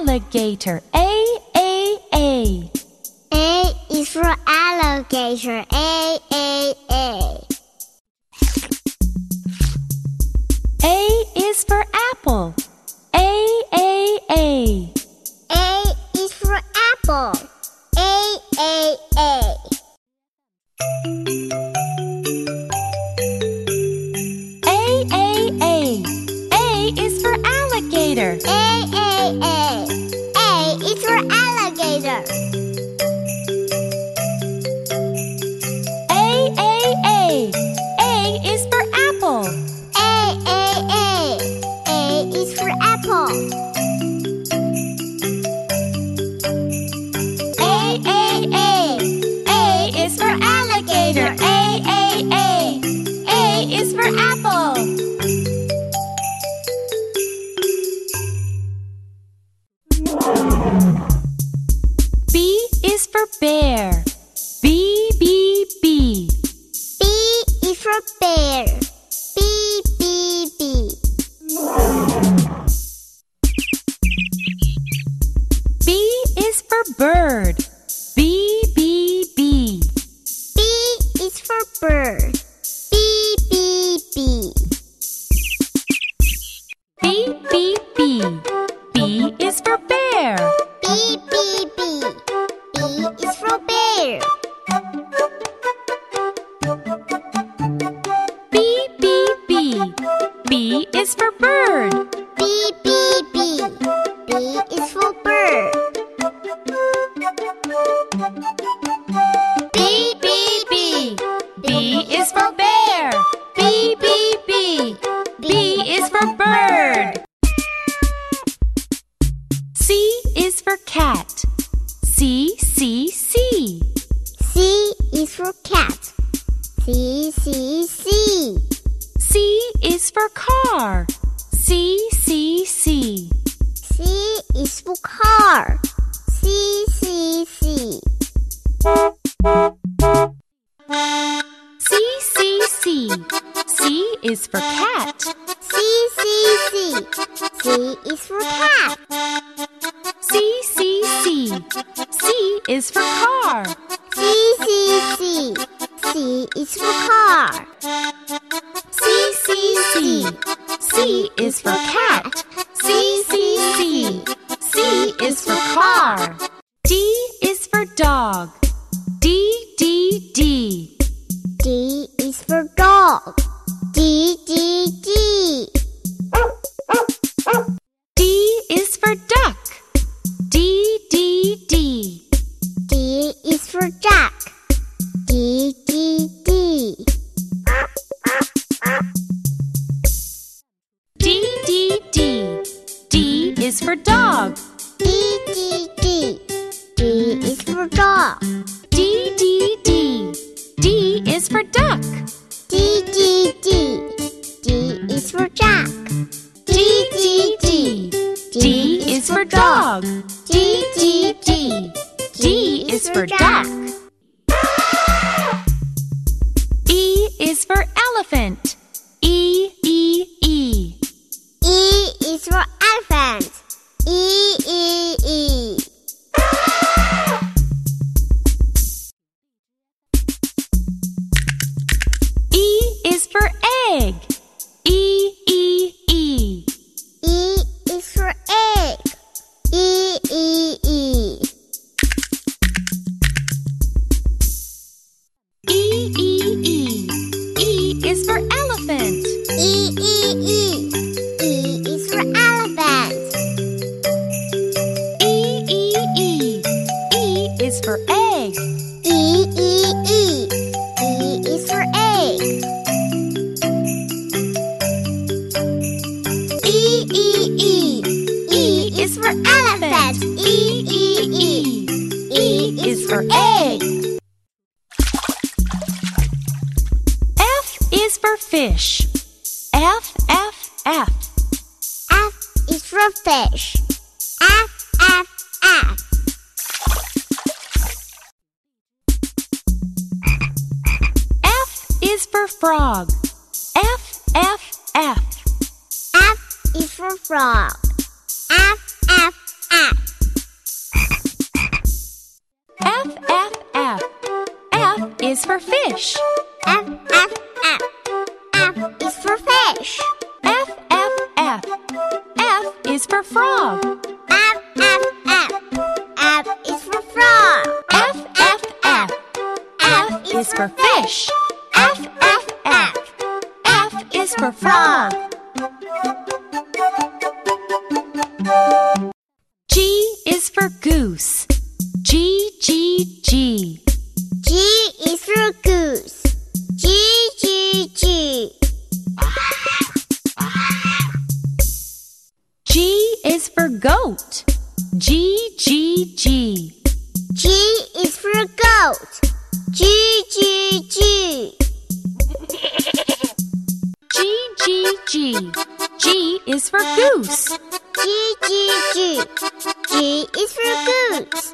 alligator. A, A, A. A is for alligator. A, A, A. A is for apple. A, A, A. A is for apple. A, A, A. A, A, A. A is for alligator. A, A, A. A is for alligator. A, A, A. A is for apple. A, A, A. A is for apple. A, A, A. A is for alligator. A, A, A. A is for apple. B is for bear. B, B, B. B is for bear. B, B, B. B is for bird. B, B, B. B is for bird. B, B, B. B, B, B. B is for bear. B, B, B. B is for bear. B, B, B. B is for bird. B, B, B. B is for bird. B, B, B. B is for bear. B, B, B. B is for bird. C is for cat. C, C, C. C is for cat. C, C, C. C is for car. C, C, C. C is for car. C, C, C. C, C, C. C is for cat. C, C, C. C is for cat. C, C, C. C is for car. C, C, C. C is for car. C, C, C. C is for cat. C, C, C. C is for car. D is for dog. D, D, D. D is for dog. D, D, D. D is for duck. D, D, D. D is for duck. D, D, D. D, D, D. D is for dog. D, D, D. D is for dog. D, D, D. D is for duck. D, D, D. D is for duck. D, D, D. D is for dog. D, D, D. D is for duck. E is for elephant. E, E, E. E is for elephant. E, E, E. E is for egg. E, E, E. E is for egg. E, E, E. E, E, E. E is for elephant. E, E, E. E is for elephant. E, E, E. E is for egg. E, E, E. E is for egg. E, E, E. E is for elephant. E, E, E. E is for egg. F is for fish. F, F, F. F is for fish. F, F, F. F is for frog. F, F, F. F is for frog. F, F, F. frog. F, F, F. F is for frog. F, F, F. F is for fish. F, F, F. F is for frog. G is for goose. G, G, G. G is for goose. G, G, G. G is for goat. G, G, G. G is for goat. G, G, G. G, G, G. G is for goose. G, G, G. G is for goose.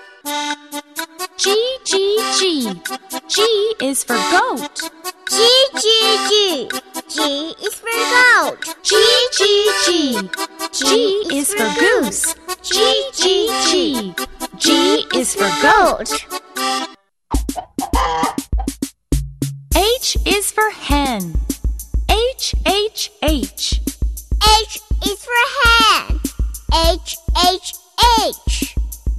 G, G, G. G is for goat. G, G, G. G is for goat. G, G, G. G is for goose. G, G, G. G is for goat. H is for hen. H, H, H. H is for hen. H, H, H.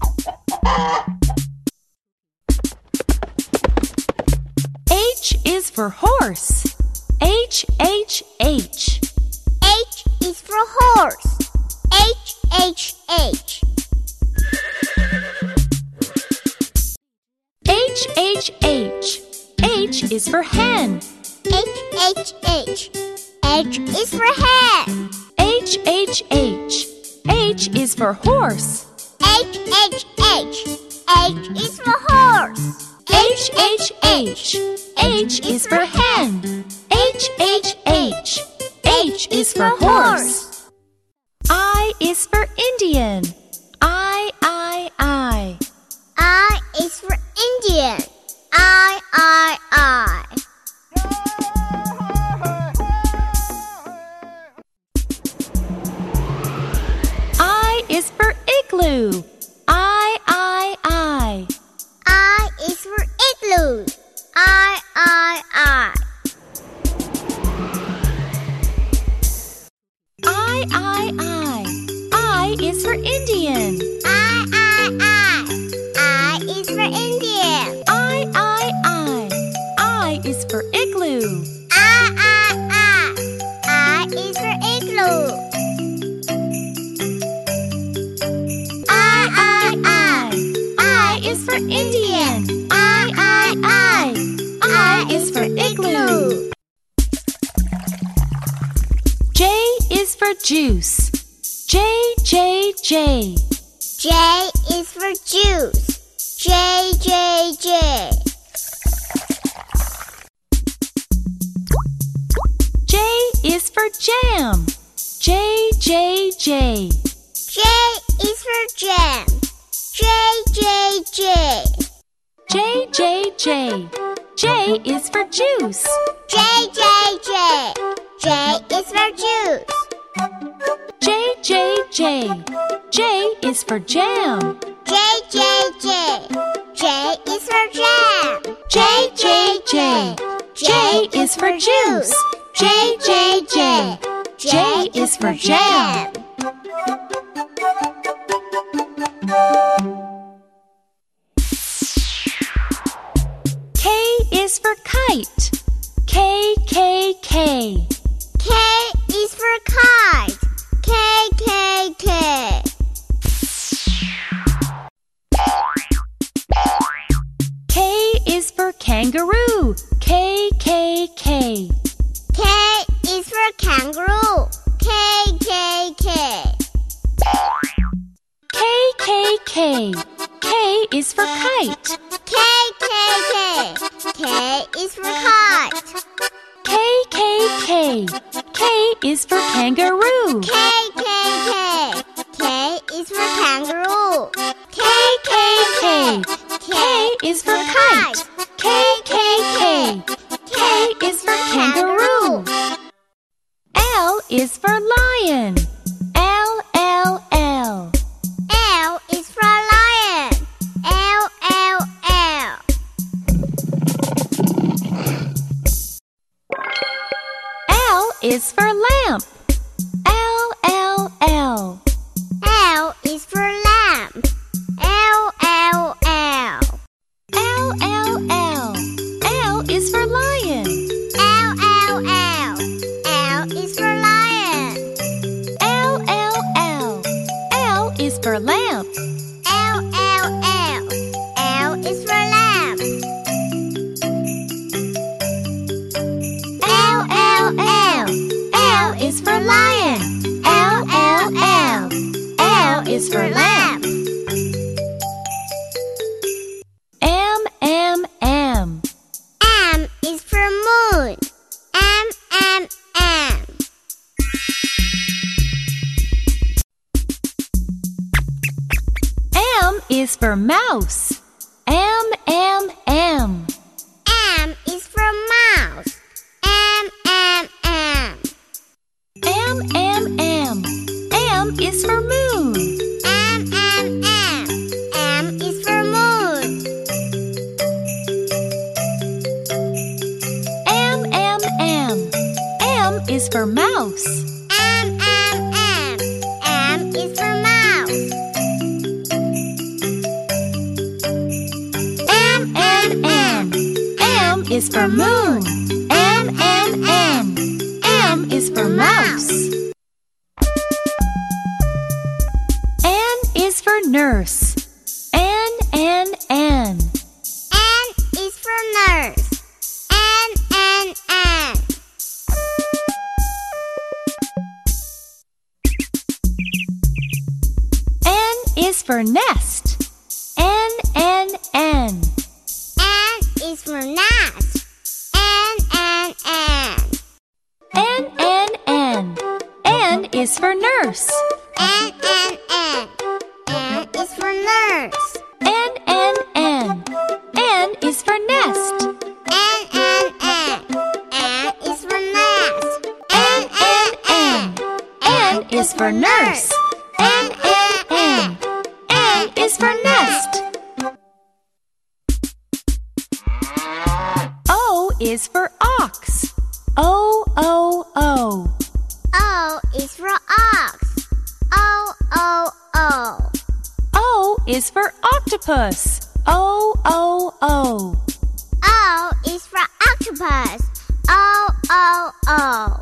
H is for horse. H, H, H. H is for horse. H, H, H. H, H, H. H is for hen. H, H, H. H is for hen. H, H, H. H is for horse. H, H, H. H is for horse. H, H, H. H is for hen. H, H, H. H is for horse. I is for Indian. I, I, I. I is for Indian. I, I, I. I is for igloo. I, I, I. I is for igloo. I, I, I. I, I. I is for Indian. I, I. I is for Indian. I, I. I is for igloo. I is for igloo. I is for Indian. I is for igloo. J is for juice. J, J, J. J is for juice. J, J, J. J is for jam. J, J, J. J is for jam. J, J, J. J, J, J. J is for juice. J, J, J. J is for juice. J, J, J. J is for jam. J, J, J. J is for jam. J, J, J. J is for juice. J, J, J. J is for jam. K is for kite. K, K, K. K is for kite. K, K, K. K is for kangaroo. K, K, K. K is for kangaroo. K, K, K. K, K, K. K is for kite. K, K, K. K is for kite. K, K, K. K is for kangaroo. K, K, K. K is for kangaroo. K, K, K. K is for kite. K, K, K. K is for kangaroo. L is for lion. L, L, L. L is for lion. L, L, L. L is for lamp. L, L, L. for lamp. L, L, L. L is for lamp. L, L, L. L is for lion. L, L, L. L is for lamp. M, M, M. M is for moon. M, M, M. M is for mouse. M, M, M. M is for mouse. M, M, M. M, M, M. M is for moon. M, M, M. M is for moon. M, M, M. M is for mouse. M, M, M. M is for mouse. M, M, M. M is for moon. M, M, M. M is for mouse. N is for nurse. N, N, N. N is for nurse. N, N, N. N is for nest. N, N, N. N is for nest. N, N, N. N, N, N. N is for nurse. N, N, N. N is for nurse. N, N, N. N is for nest. N, N, N. N is for nest. N, N, N. N is for nurse. N, N, N. N is for nest. O is for ox. O, O, O. O is for ox. O, O, O. O is for octopus. O, O, O. O is for octopus. O, O, O.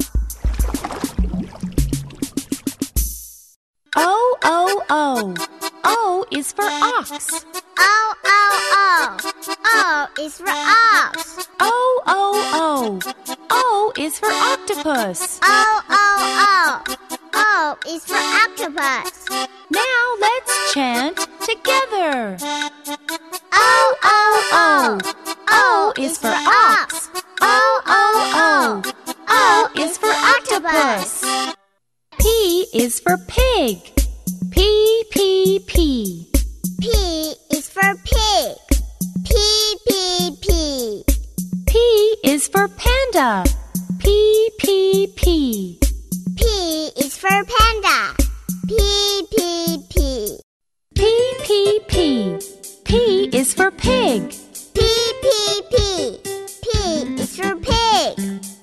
O, O, O. O is for ox. O, O, O. O is for ox. O, O, O. O is for octopus. O, O, O. O is for octopus. Now let's chant together. O, O, O. O is for ox. O, O, O. O is for octopus. P is for pig. P, P, P. P is for pig. P, P, P. P is for panda. P, P, P. P is for panda. P, P, P. P, P, P. P is for pig. P, P, P. P is for pig.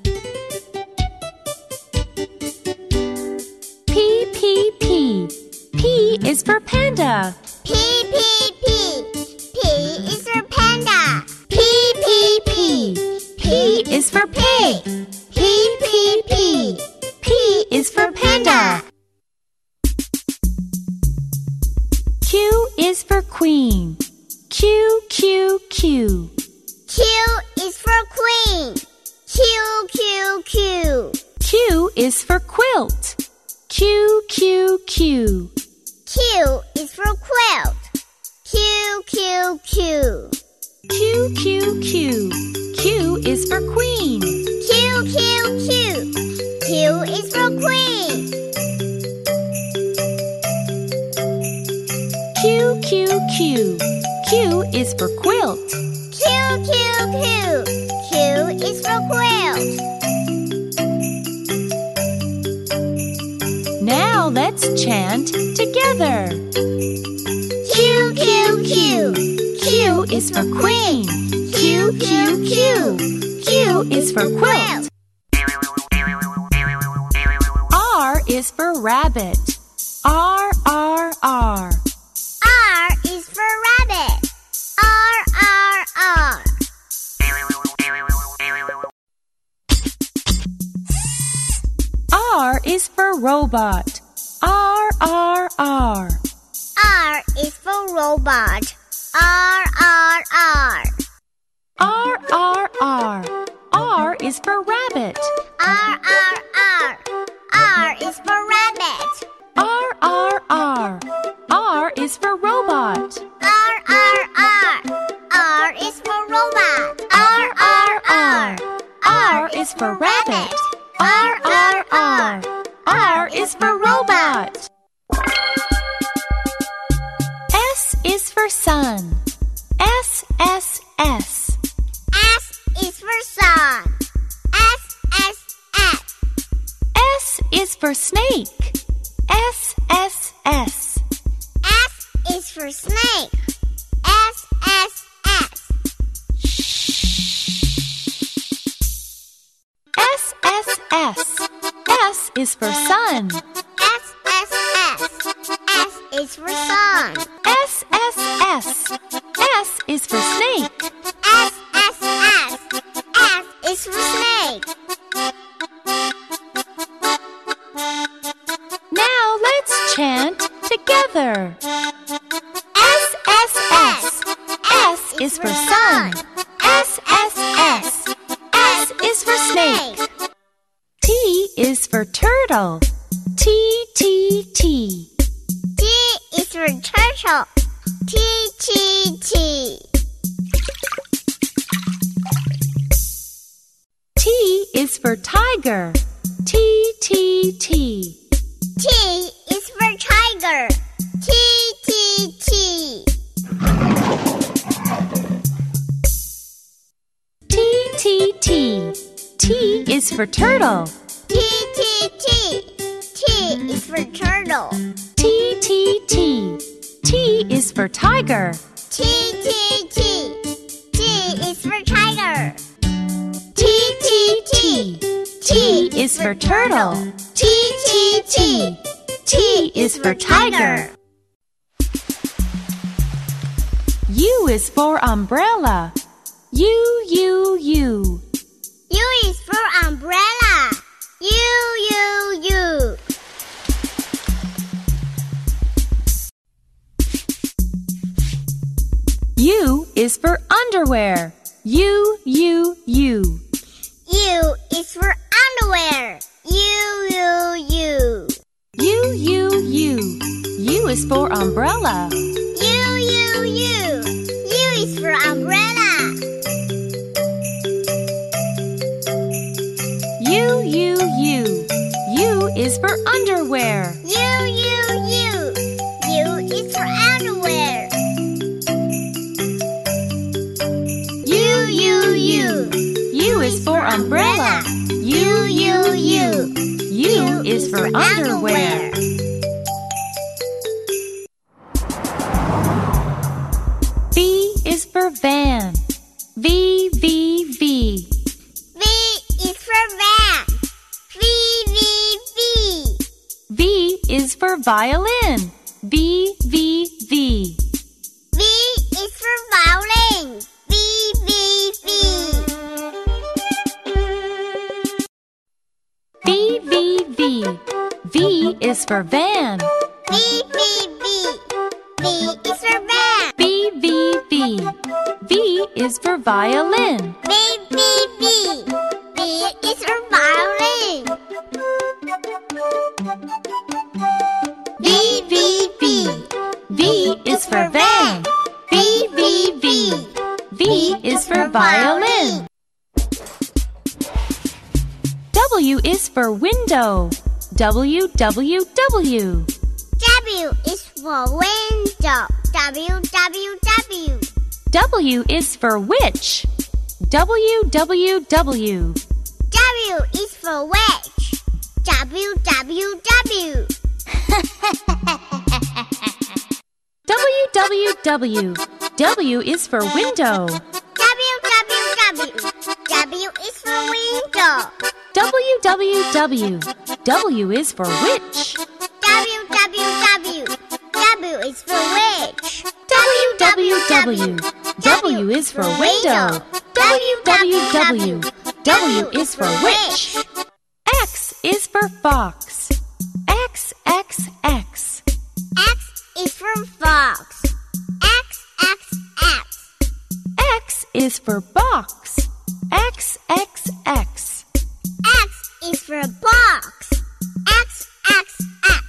P, P, P. P is for panda. P, P, P. P is for panda. P, P, P. P is for pig. P, P, P. P is for panda. Q is for queen. Q, Q, Q. Q is for queen. Q, Q, Q. Q is for quilt. Q, Q, Q. Q is for quilt. Q, Q, Q. Q, Q, Q. Q is for queen. Q, Q, Q. Q is for queen. Q, Q, Q. Q is for quilt. Q, Q, Q. Q is for quilt. Now let's chant together. Q, Q, Q. Q is for queen. Q, Q, Q. Q is for quilt. R is for rabbit. R, R, R. R is for rabbit. R, R, R. R is for robot. R, R, R. R is for robot. R, R, R. R, R, R. R is for rabbit. R, R, R. R is for rabbit. R, R, R. R is for robot. R, R, R. R is for robot. R, R, R. R is for rabbit. R, R, R. R is for robot. S is for sun. S, S, S. S is for sun. S, S, S. S is for snake. S, S, S. S is for snake. S, S, S. S, S, S. S is for sun. S, S, S. S is for sun. S, S, S. S is for snake. S, S, S. S is for snake. Now let's chant together. S, S, S. S is for sun. S, S, S. S is for snake. T is for turtle. T, T, T. T is for turtle. T, T, T. T is for tiger. T, T, T. T is for tiger. T, T, T. T, T, T. T is for turtle. T, T, T. T is for turtle. T, T, T. T is for tiger. T, T, T. T is for tiger. T, T, T. T is for turtle. T, T, T. T is for tiger. U is for umbrella. U, U, U. U is for umbrella. U, U, U. U is for underwear. U, U, U. U is for underwear. U, U, U. U, U, U. U is for umbrella. U, U, U. U is for umbrella. U, U, U. U is for underwear. U, U, U. U is for underwear. U, U, U. U is for umbrella. U, U, U. U is for underwear. V is for van. V, V, V. V is for van. V, V, V. V is for violin. V, V, V. V is for violin. V, V, V. V, V, V. V is for van. V, V, V. V is for van. V, V, V. V is for violin. V, V, V. V is for violin. V, V, V. V is for van. V, V, V. V is for violin. W is for window. W, W, W. W is for window. W, W, W. W is for witch. W, W, W. W is for witch. W, W, W. W, W, W. W is for window. W, W, W. W is for window. W, W, W. W is for witch. W, W, W. W is for witch. W, W, W. W is for window. W, W, W. W is for witch. X is for fox. X, X, X. X is for fox. is for box. X, X, X. X is for box. X, X, X.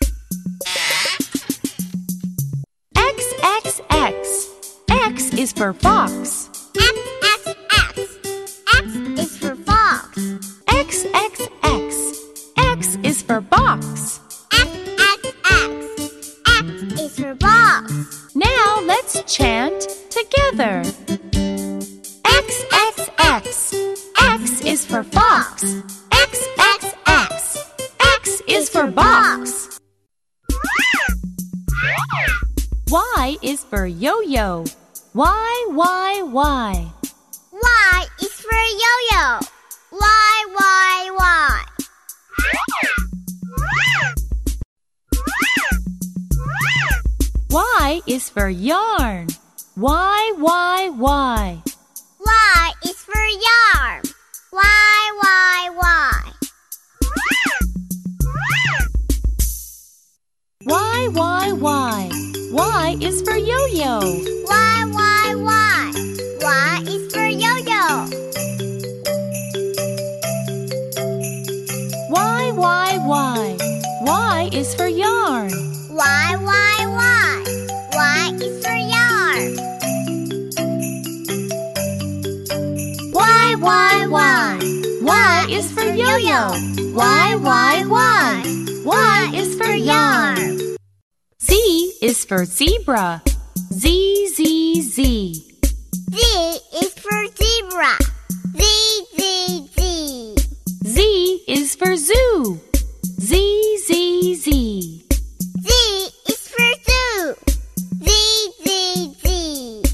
X, X, X. X is for fox. X, X, X. X is for fox. X, X, X. X is for box. X, X, X. X is for box. Now let's chant together. X, X, X. X is for fox. X, X, X. X is for box. Y is for yo-yo. Y, Y, Y. Y is for yo-yo. Y, Y, Y. Y is for yarn. Y, Y, Y. Y is for yarn. Y, Y, Y. Y, Y, Y. Y is for yo-yo. Y, Y, Y. Y is for yo-yo. Y, Y, Y. Y is for yarn. Y, Y, Y. Y is for yarn. Y, Y, Y. Y is for yo-yo. Y, Y, Y. Y is for yarn. Z is for zebra. Z, Z, Z. Z is for zebra. Z, Z, Z. Z is for zoo. Z, Z, Z. Z is for zoo. Z, Z, Z.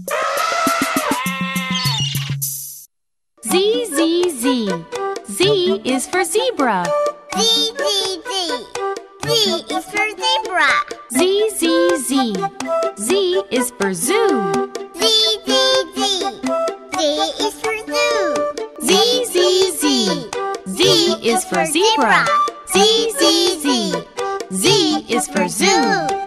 Z, Z, Z. Z is for zebra. Z, Z, Z. Z is for zebra. Z, Z, Z. Z is for zoo. Z, Z, Z. Z is for zoo. Z, Z, Z. Z is for zebra. Z, Z, Z. Z is for zoo.